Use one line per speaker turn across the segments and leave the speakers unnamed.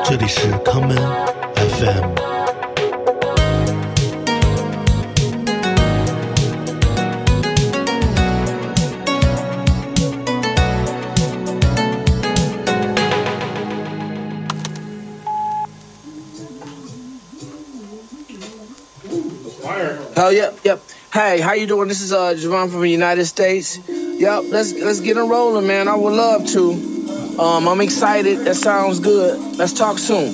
这里是康门 FM。
Oh, yep. Hey, how you doing? This is Javon from the United States. Yep, let's get it rolling, man. I would love to. I'm excited. That sounds good. Let's talk soon.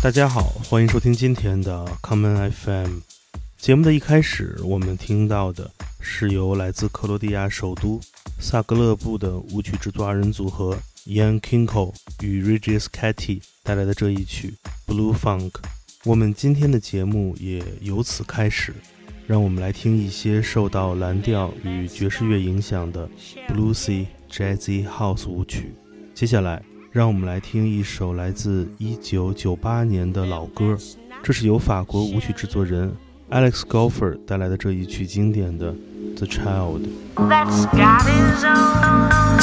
大家好，欢迎收听今天的 Common FM。 节目的一开始，我们听到的是由来自克罗地亚首都萨格勒布的舞曲制作二人组合 Ian Kinko 与 Regis Catty 带来的这一曲 Blue Funk。 我们今天的节目也由此开始，让我们来听一些受到蓝调与爵士乐影响的 Bluesy Jazzy House 舞曲。接下来让我们来听一首来自1998年的老歌，这是由法国舞曲制作人 Alex Golfer 带来的这一曲经典的 The Child。
That's got his own.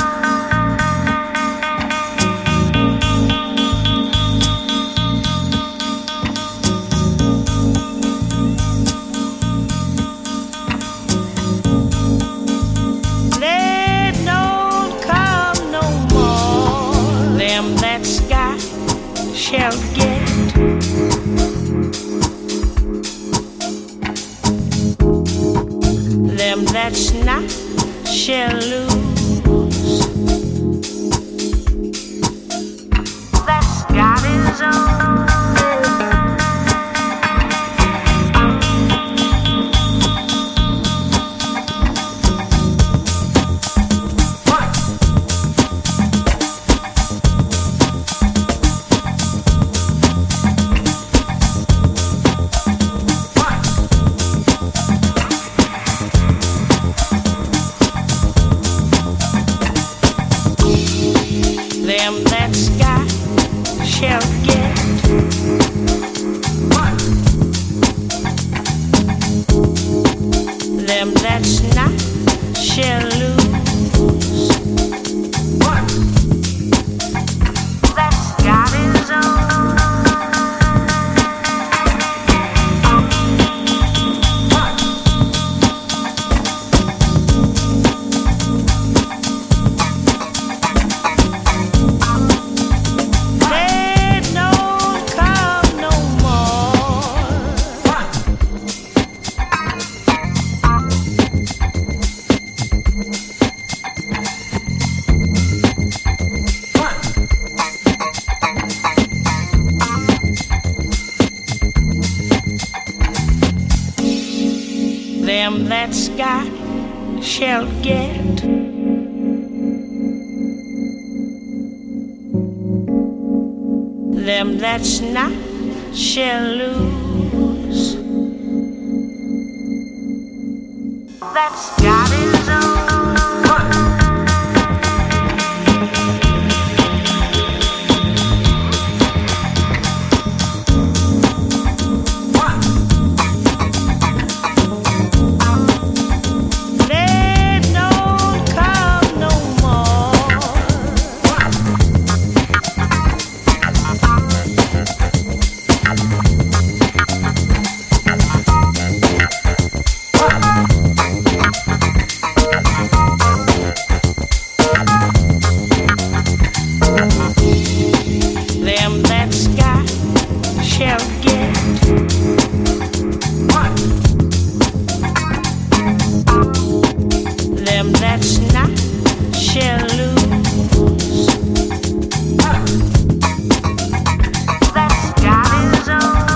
Shall get them that's not shall lose. That's got his own. Them that's got shall get. Them that's not shall lose. That's got his own. Them that's got shall get. Them that's not shall lose. That's got his own. Them that's got shall get. Them that's not shall lose. That's got his own.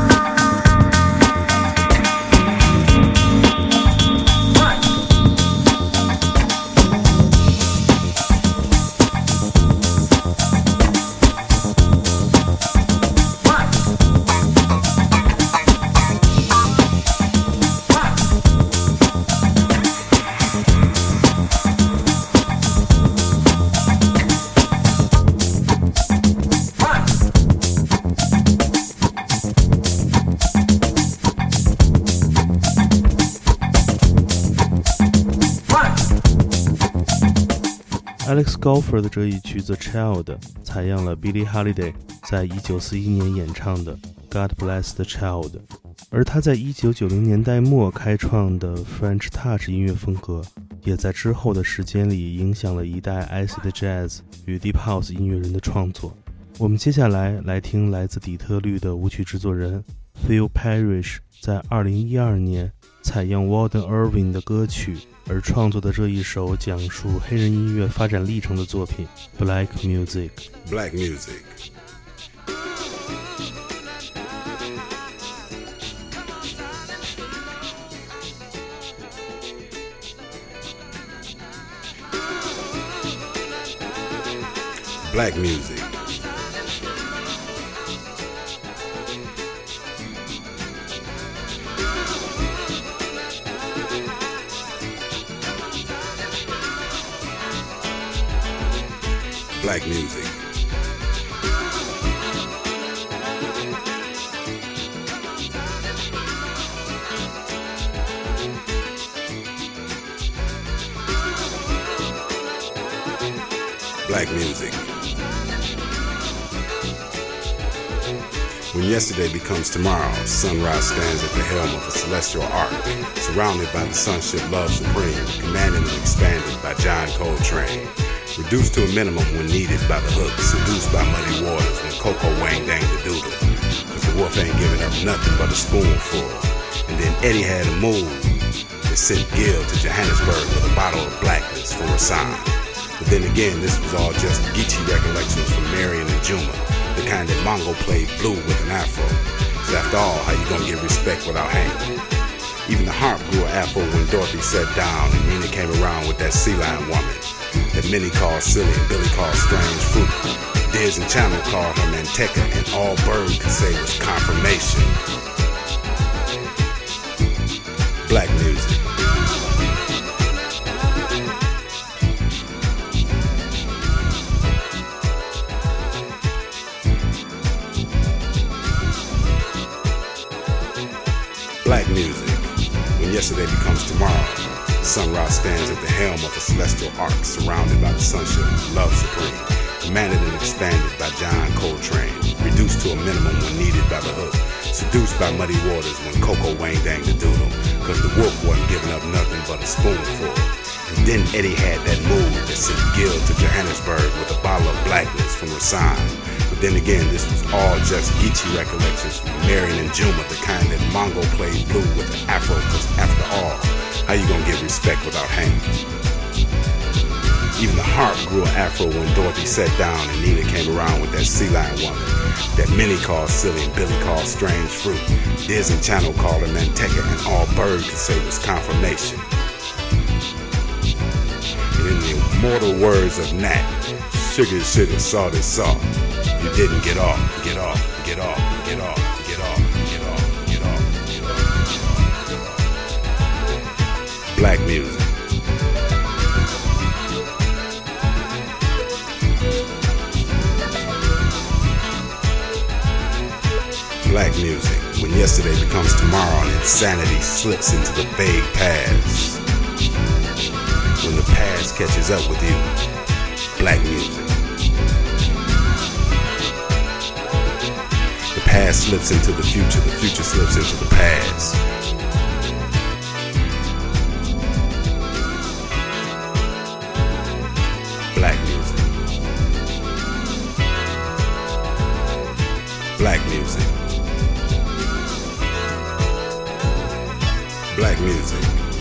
Alex Golfer 的这一曲 The Child 采样了 Billie Holiday 在1941年演唱的 God Bless the Child， 而他在1990年代末开创的 French Touch 音乐风格也在之后的时间里影响了一代 Acid Jazz 与 Deep House 音乐人的创作。我们接下来听来自底特律的舞曲制作人 Phil Parrish 在2012年采样 Walden Irving 的歌曲而创作的这一首讲述黑人音乐发展历程的作品 Black Music。
Black Music Black music. Black music. Black music. When yesterday becomes tomorrow, sunrise stands at the helm of a celestial arc, surrounded by the sonship love supreme, commanded and expanded by John Coltrane. Reduced to a minimum when needed by the hook, seduced by muddy waters when Coco Wang dang the doodle. Cause the wolf ain't giving up nothing but a spoonful. And then Eddie had a move that sent Gil to Johannesburg with a bottle of blackness for a sign. But then again, this was all just Geechee recollections from Marion and Juma, the kind that Mongo played blue with an afro. So after all, how you gonna get respect without hanging? Even the harp grew an afro when Dorothy sat down and Nina came around with that sea lion woman that many call silly and Billy called strange fruit. Diz and Channel called her Manteca, and all Bird could say was confirmation. Black music. Black music. When yesterday becomes tomorrow, sunrise stands at the helm of a celestial arc, surrounded by the sonship, love supreme, commanded and expanded by John Coltrane, reduced to a minimum when needed by the hook, seduced by muddy waters when Coco Wang dang the doodle, cause the wolf wasn't giving up nothing but a spoonful. And then Eddie had that move that sent Gil to Johannesburg with a bottle of blackness from Rasan. But then again, this was all just Geechee recollections from Marion and Juma, the kind that Mongo played blue with an afro, cause after all, how you gonna get respect without hanging? Even the harp grew an afro when Dorothy sat down and Nina came around with that sea lion woman that many call silly and Billy called strange fruit. Diz and Channel called her Manteca, and all Bird could say was confirmation. And in the immortal words of Nat, sugar, sugar, salt is salt. You didn't get off, get off, get off, get off, get off, get off, get off, get off, get off. Black music. Black music. When yesterday becomes tomorrow and insanity slips into the vague past. When the past catches up with you. Black music. The past slips into the future slips into the past. Black music. Black music. Black music.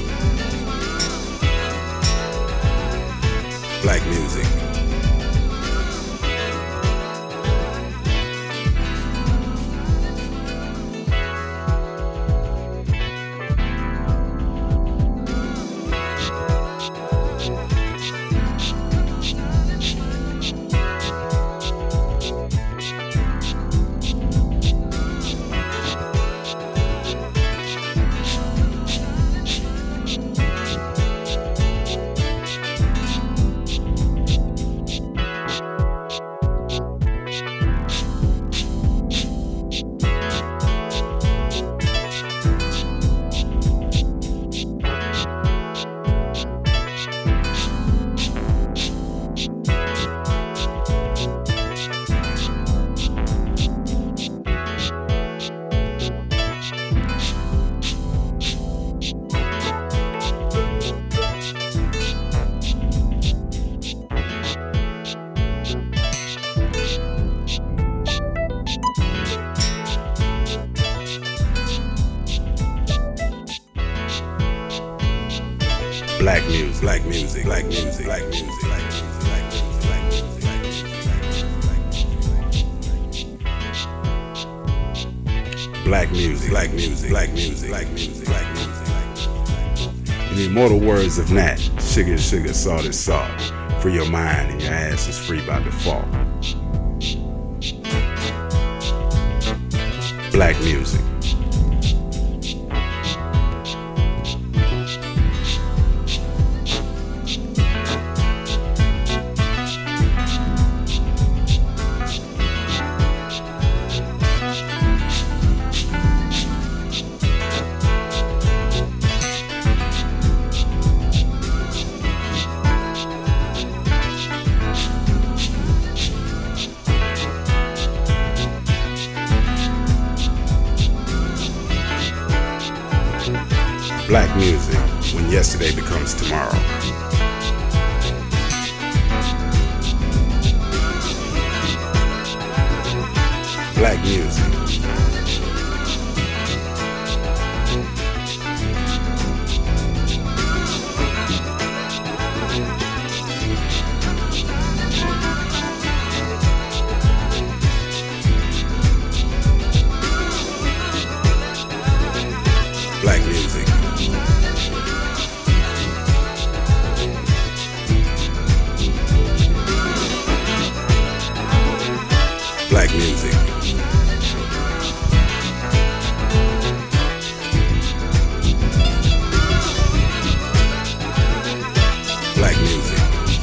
Black music. Black music, black music, black music, black music, black music, black music, black music, black music, black music, black music, black music, black music. In the immortal words of Nat, sugar, sugar, salt is salt. Free your mind and your ass is free by default. Black music. Black music, when yesterday becomes tomorrow. Black music. Black music. Black music. Black music.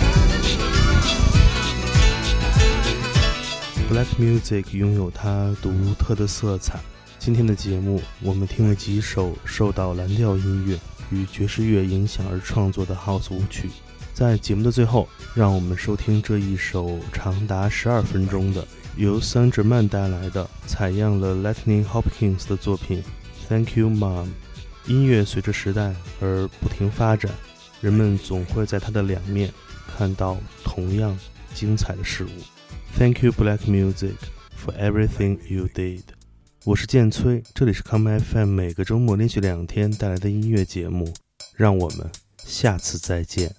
Black music 拥有它独特的色彩。今天的节目，我们听了几首受到蓝调音乐与爵士乐影响而创作的 House 舞曲。在节目的最后，让我们收听这一首长达12分钟的由桑哲曼带来的采样了 Lightning Hopkins 的作品 Thank You Mom。 音乐随着时代而不停发展，人们总会在它的两面看到同样精彩的事物。 Thank you Black Music for everything you did。 我是建崔，这里是 Come FM 每个周末连续2天带来的音乐节目，让我们下次再见。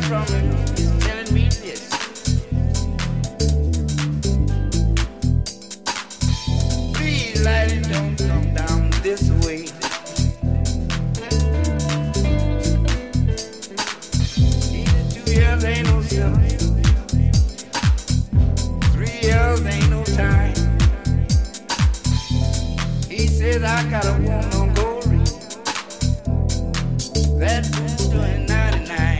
from him. He's telling me this. Please, lady, don't come down this way. Either 2 years ain't no sinner. 3 years ain't no time. He says I got a woman on gold ring. That fool's doing 99.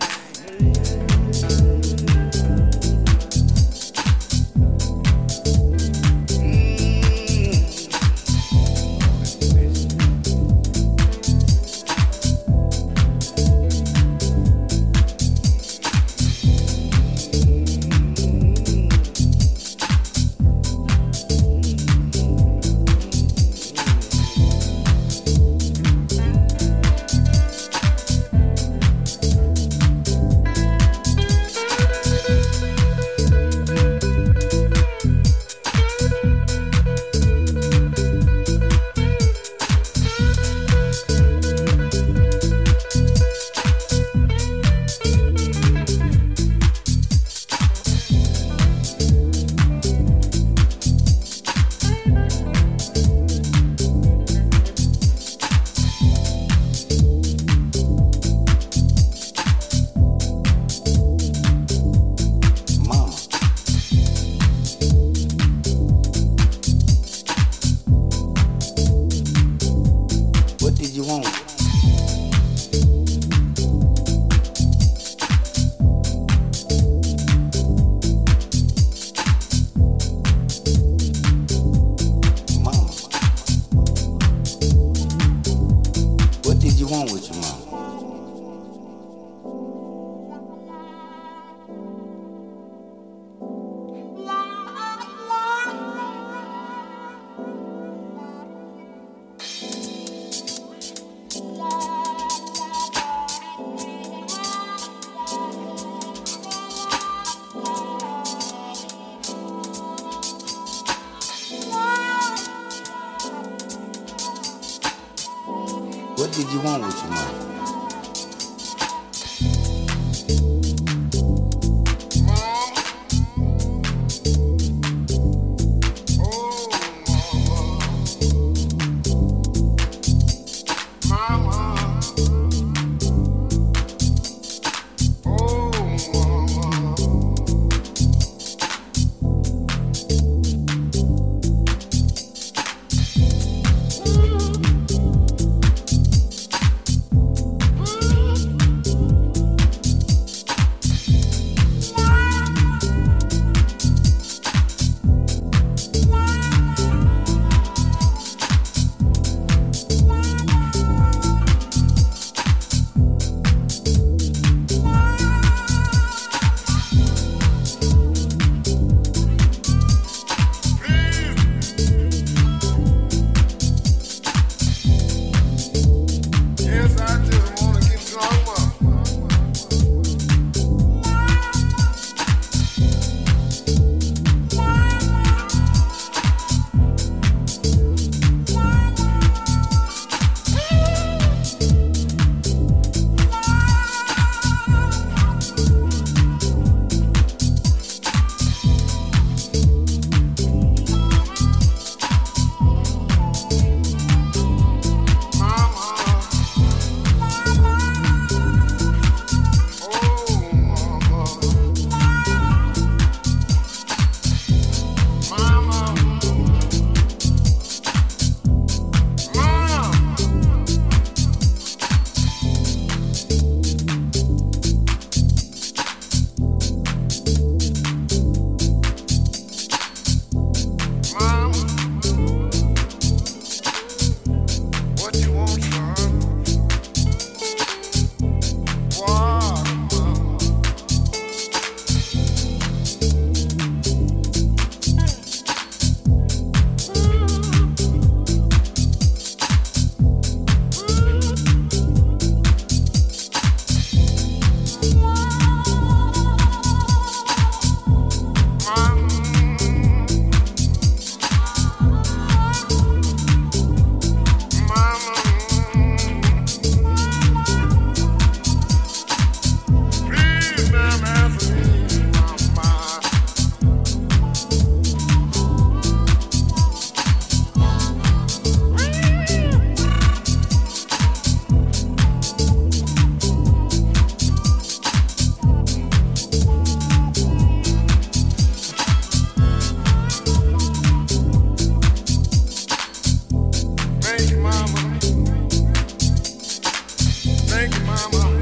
What did you want with your mom?
Thank you, mama.